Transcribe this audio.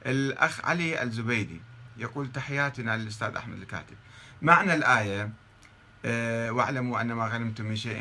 الأخ علي الزبيدي يقول: تحياتنا للأستاذ أحمد الكاتب. معنى الآية: واعلموا أن ما غنمتم من شيء